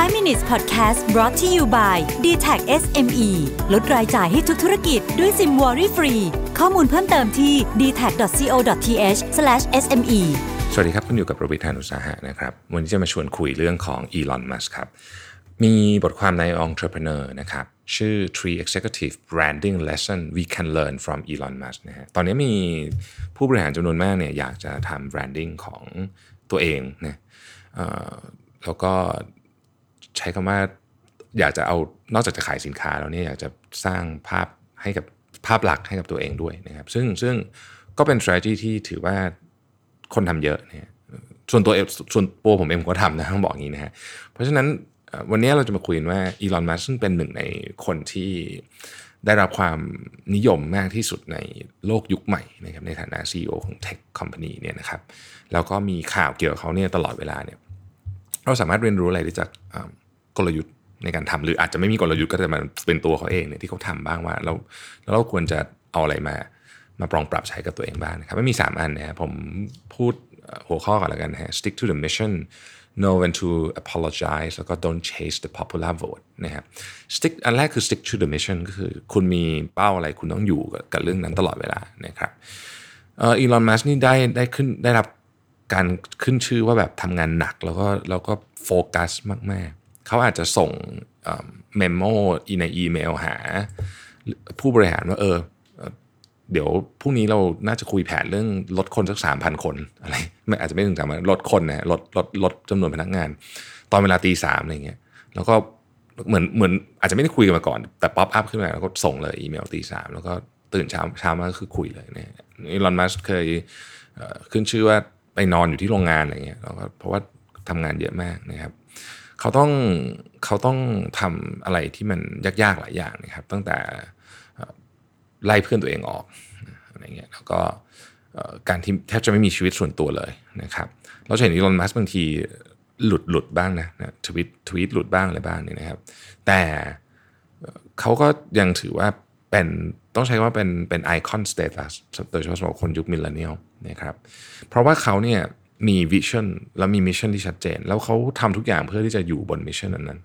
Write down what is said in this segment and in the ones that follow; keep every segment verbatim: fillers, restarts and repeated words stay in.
ไฟว์ minutes podcast brought to you by ดี ที เอ ซี เอส เอ็ม อี ลดรายจ่ายให้ทุกธุรกิจด้วยซิมวอรี่ฟรีข้อมูลเพิ่มเติมที่ ดี ที เอ ซี ดอท ซี โอ ดอท ที เอช สแลช เอส เอ็ม อีสวัสดีครับคุณอยู่กับประวิทย์ หาญอุตสาหะนะครับวันนี้จะมาชวนคุยเรื่องของ Elon Musk ครับมีบทความใน Entrepreneur นะครับชื่อ three Executive Branding Lesson We Can Learn from Elon Musk นะฮะตอนนี้มีผู้บริหารจำนวนมากเนี่ยอยากจะทำ branding ของตัวเองนะเอ่อแล้วก็ใช้คำว่าอยากจะเอานอกจากจะขายสินค้าแล้วเนี่ยอยากจะสร้างภาพให้กับภาพลักษณ์ให้กับตัวเองด้วยนะครับซึ่งซึ่งก็เป็น strategy ที่ถือว่าคนทำเยอะเนี่ยส่วนตัวส่วนตัวผมเองผมก็ทำนะต้องบอกอย่างนี้นะฮะเพราะฉะนั้นวันนี้เราจะมาคุยกันว่าอีลอน มัสก์ซึ่งเป็นหนึ่งในคนที่ได้รับความนิยมมากที่สุดในโลกยุคใหม่นะครับในฐานะ ซี อี โอ ของ Tech Company เนี่ยนะครับแล้วก็มีข่าวเกี่ยวกับเขาเนี่ยตลอดเวลาเนี่ยเราสามารถเรียนรู้อะไรได้จากกลยุทธ์ในการทำหรืออาจจะไม่มีกลยุทธ์ก็จะมันเป็นตัวเขาเองเนี่ยที่เขาทำบ้างว่าเราแล้วเราควรจะเอาอะไรมามาปรองปรับใช้กับตัวเองบ้างนะครับไม่มีสามอันนะครับผมพูดหัวข้อก่อนแล้วกันนะฮะ stick to the mission know when to apologize แล้วก็ don't chase the popular vote นะครับ stick อันแรกคือ stick to the mission ก็คือคุณมีเป้าอะไรคุณต้องอยู่กับเรื่องนั้นตลอดเวลานะครับเอ่อ Elon Musk นี่ได้ได้ขึ้นได้รับการขึ้นชื่อว่าแบบทำงานหนักแล้วก็แล้วก็โฟกัสมากๆเขาอาจจะส่งเมมโมในอีเมลหาผู้บริหารว่าเออเดี๋ยวพรุ่งนี้เราน่าจะคุยแผนเรื่องลดคนสัก สามพัน คนอะไรไม่อาจจะไม่ถึงสามพันลดคนนะลดลดลดจำนวนพนักงานตอนเวลาตีสามอะไรเงี้ยแล้วก็เหมือนเหมือนอาจจะไม่ได้คุยกันมาก่อนแต่ป๊อปอัพขึ้นมาแล้วก็ส่งเลยอีเมลตีสามแล้วก็ตื่นเช้าเช้ามาก็คือคุยเลยเนี่ยอีลอน มัสก์เคยขึ้นชื่อว่าไปนอนอยู่ที่โรงงานอะไรเงี้ยแล้วก็เพราะว่าทำงานเยอะมากนะครับเขาต้องเขาต้องทำอะไรที่มันยากๆหลายอย่างนะครับตั้งแต่ไล่เพื่อนตัวเองออกอะไรเงี้ยแล้วก็การที่แทบจะไม่มีชีวิตส่วนตัวเลยนะครับเราเห็นอีลอน มัสก์บางทีหลุดหลุดบ้างนะทวีตทวีตหลุดบ้างอะไรบ้างเนี่ยนะครับแต่เขาก็ยังถือว่าเป็นต้องใช้ว่าเป็นเป็นไอคอนสเตตัสโดยเฉพาะสำหรับคนยุคมิลเลนเนียลนะครับเพราะว่าเขาเนี่ยมีวิชั่นแล้วมีมิชชั่นที่ชัดเจนแล้วเขาทำทุกอย่างเพื่อที่จะอยู่บนมิชชั่นนั้น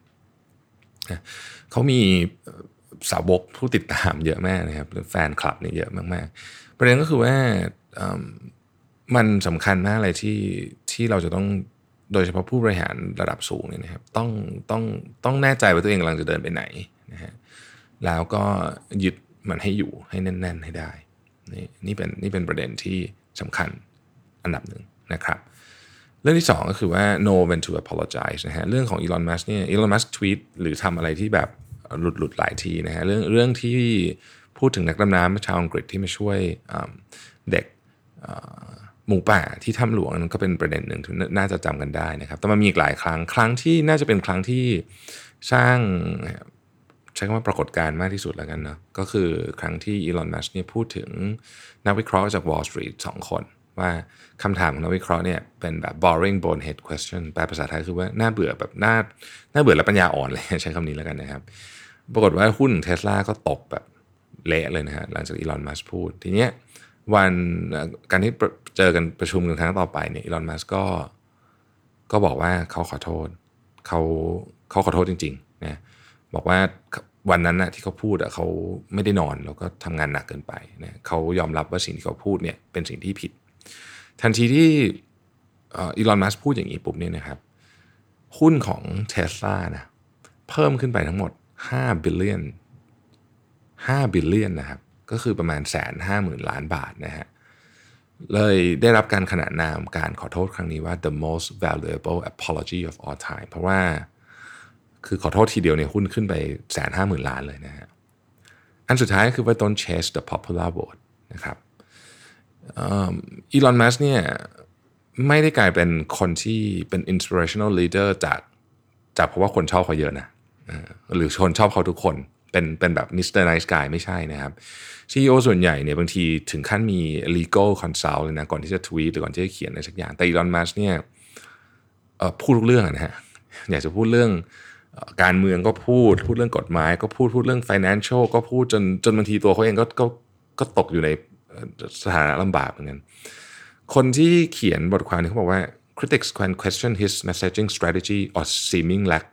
ๆเขามีสาวกผู้ติดตามเยอะมากนะครับแฟนคลับเนี่ยเยอะมากๆประเด็นก็คือว่ามันสำคัญมากเลยที่ที่เราจะต้องโดยเฉพาะผู้บริหารระดับสูงเนี่ยนะครับต้องต้องต้องแน่ใจว่าตัวเองกำลังจะเดินไปไหนนะฮะแล้วก็ยึดมันให้อยู่ให้แน่นๆให้ได้นี่นี่เป็นนี่เป็นประเด็นที่สำคัญอันดับหนึ่งนะครับเรื่องที่สองก็คือว่า know when to apologize นะฮะเรื่องของ Elon Musk เนี่ย Elon Musk ทวีตหรือทำอะไรที่แบบหลุดหลุดหลายทีนะฮะเรื่องเรื่องที่พูดถึงนักดำน้ำชาวอังกฤษที่มาช่วยเด็กหมูป่าที่ถ้ำหลวงนั่นก็เป็นประเด็นหนึ่งที่น่าจะจำกันได้นะครับแต่มันมีอีกหลายครั้งครั้งที่น่าจะเป็นครั้งที่สร้างใช้คำว่าปรากฏการณ์มากที่สุดแล้วกันเนาะก็คือครั้งที่อีลอน มัสก์เนี่ยพูดถึงนักวิเคราะห์จาก Wall Street สองคนว่าคำถามของนักวิเคราะห์เนี่ยเป็นแบบ boring bonehead question แปลภาษาไทยคือว่าน่าเบื่อแบบน่าน่าเบื่อและปัญญาอ่อนเลยใช้คำนี้แล้วกันนะครับปรากฏว่าหุ้น Tesla ก็ตกแบบเละเลยนะฮะหลังจากอีลอน มัสก์พูดทีเนี้ยวันการที่เจอกันประชุมกันครั้งต่อไปเนี่ยอีลอน มัสก์ก็ก็บอกว่าเขาขอโทษเขาเขาขอโทษจริงๆนะบอกว่าวันนั้นนะที่เขาพูดอะเขาไม่ได้นอนแล้วก็ทำงานหนักเกินไปนะเขายอมรับว่าสิ่งที่เขาพูดเนี่ยเป็นสิ่งที่ผิดทันทีที่อีลอน มัสก์พูดอย่างนี้ปุ๊บเนี่ยนะครับหุ้นของ Tesla นะเพิ่มขึ้นไปทั้งหมดห้า billion ห้า billion นะครับก็คือประมาณ หนึ่งแสนห้าหมื่น ล้านบาทนะฮะเลยได้รับการขนานนามการขอโทษครั้งนี้ว่า the most valuable apology of all time เพราะว่าคือขอโทษทีเดียวเนี่ยหุ้นขึ้นไป หนึ่งแสนห้าหมื่น ล้านเลยนะฮะอันสุดท้ายก็คือว่า don't chase the popular vote นะครับอีลอน มัสก์เนี่ยไม่ได้กลายเป็นคนที่เป็น inspirational leader จากจากเพราะว่าคนชอบเขาเยอะนะหรือคนชอบเขาทุกคนเป็นเป็นแบบ มิสเตอร์ Nice Guy ไม่ใช่นะครับ ซี อี โอ ส่วนใหญ่เนี่ยบางทีถึงขั้นมี legal consult เลยนะก่อนที่จะทวีตหรือก่อนที่จะเขียนอะไรสักอย่างแต่อีลอน มัสก์เนี่ยพูดทุกเรื่องนะฮะอยากจะพูดเรื่องการเมืองก็พูดพูดเรื่องกฎหมายก็พูดพูดเรื่อง financial ก็พูดจนจนบางทีตัวเขาเองก็ก็ก็ตกอยู่ในสถานะลำบากเหมือนกันคนที่เขียนบทความนี้เขาบอกว่า critics can question his messaging strategy or seeming lack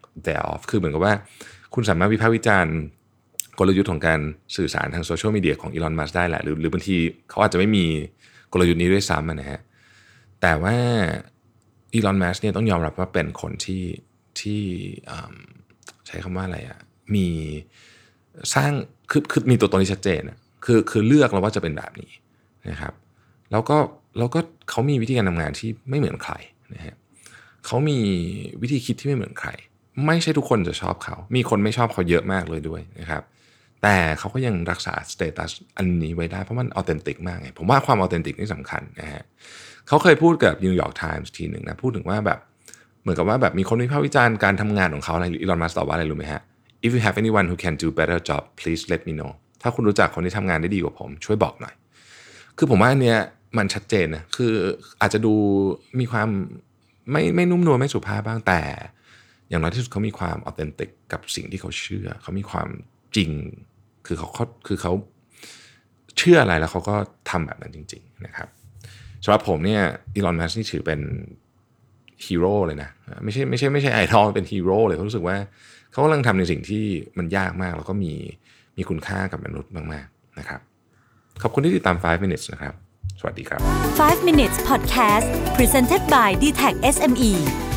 thereof คือเหมือนกับว่าคุณสามารถวิพากษ์วิจารณ์กลยุทธ์ของการสื่อสารทางโซเชียลมีเดียของอีลอนมัสก์ได้แหละหรือหรือบางทีเขาอาจจะไม่มีกลยุทธ์นี้ด้วยซ้ำนะฮะแต่ว่าอีลอนมัสก์เนี่ยต้องยอมรับว่าเป็นคนที่ที่ใช้คำว่าอะไรอ่ะมีสร้างคือคือมีตัวตนที่ชัดเจนอ่ะคือคือเลือกแล้วว่าจะเป็นแบบนี้นะครับแล้วก็แล้วก็เขามีวิธีการทำงานที่ไม่เหมือนใครนะฮะเขามีวิธีคิดที่ไม่เหมือนใครไม่ใช่ทุกคนจะชอบเขามีคนไม่ชอบเขาเยอะมากเลยด้วยนะครับแต่เขาก็ยังรักษาสเตตัสอันนี้ไว้ได้เพราะมันออเทนติกมากไงผมว่าความออเทนติกนี่สำคัญนะฮะเขาเคยพูดกับนิวยอร์กไทมส์ทีหนึ่งนะพูดถึงว่าแบบเหมือนกับว่าแบบมีคนวิพากษ์วิจารณ์การทำงานของเขาอะไรอีลอนมัสก์ตอบว่าอะไรรู้ไหมฮะ if you have anyone who can do better job please let me know ถ้าคุณรู้จักคนที่ทำงานได้ดีกว่าผมช่วยบอกหน่อยคือผมว่าอันเนี้ยมันชัดเจนนะคืออาจจะดูมีความไม่ไม่นุ่มนวลไม่สุภาพบ้างแต่อย่างน้อยที่สุดเขามีความออเทนติกกับสิ่งที่เขาเชื่อเขามีความจริงคือเขาคือเขาเชื่ออะไรแล้วเขาก็ทำแบบนั้นจริงๆนะครับสำหรับผมเนี่ยอีลอนมัสก์นี่ถือเป็นฮีโร่เลยนะไม่ใช่ไม่ใช่ไม่ใช่ไอดอลเป็นฮีโร่เลยเขารู้สึกว่าเขากำลังทำในสิ่งที่มันยากมากแล้วก็มีมีคุณค่ากับมนุษย์มากๆนะครับขอบคุณที่ติดตามไฟว์ minutes นะครับสวัสดีครับไฟว์ minutes podcast presented by ดี ที เอ ซี เอส เอ็ม อี